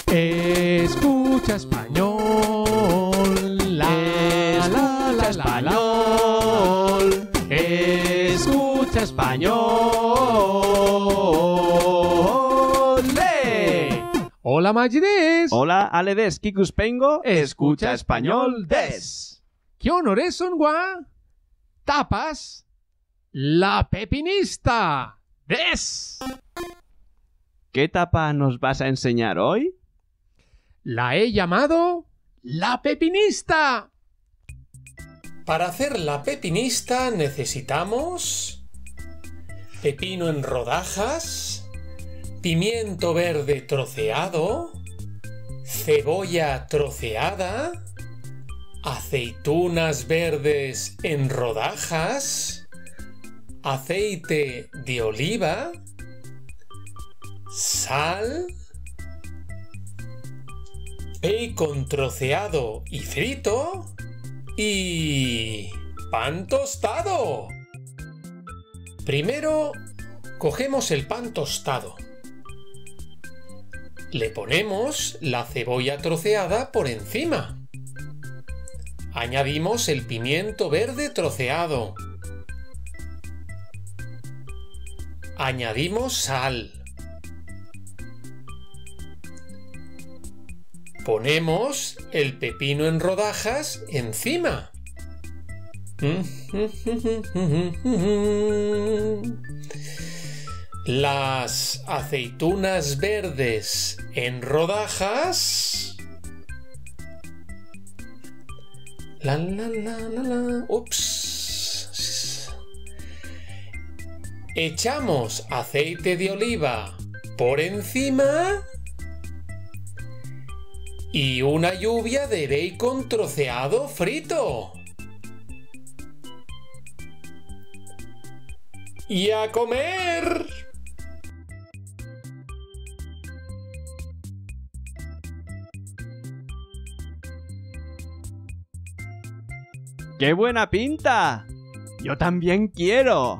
Escucha español. Escucha español. Escucha español. ¡Le! Hola Magides. Hola Ale des, Kikuspengo, escucha español des. ¿Qué honores son gua? Tapas. La pepinista. Des. ¿Qué tapa nos vas a enseñar hoy? La he llamado la pepinista. Para hacer la pepinista necesitamos pepino en rodajas, pimiento verde troceado, cebolla troceada, aceitunas verdes en rodajas, aceite de oliva, sal, bacon troceado y frito y pan tostado. Primero cogemos el pan tostado. Le ponemos la cebolla troceada por encima. Añadimos el pimiento verde troceado. Añadimos sal. Ponemos el pepino en rodajas encima. Las aceitunas verdes en rodajas. Ups. Echamos aceite de oliva por encima. Y una lluvia de bacon troceado frito. ¡Y a comer! ¡Qué buena pinta! ¡Yo también quiero!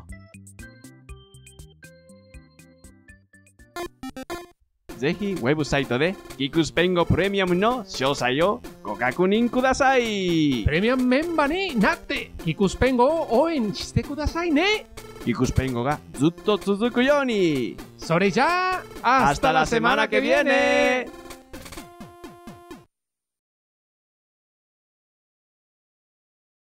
ぜひウェブサイトでキクスペンゴプレミアムの詳細をご確認ください。 プレミアムメンバーになってキクスペンゴを応援してくださいね。 キクスペンゴがずっと続くように。 それじゃあ、hasta la semana que viene.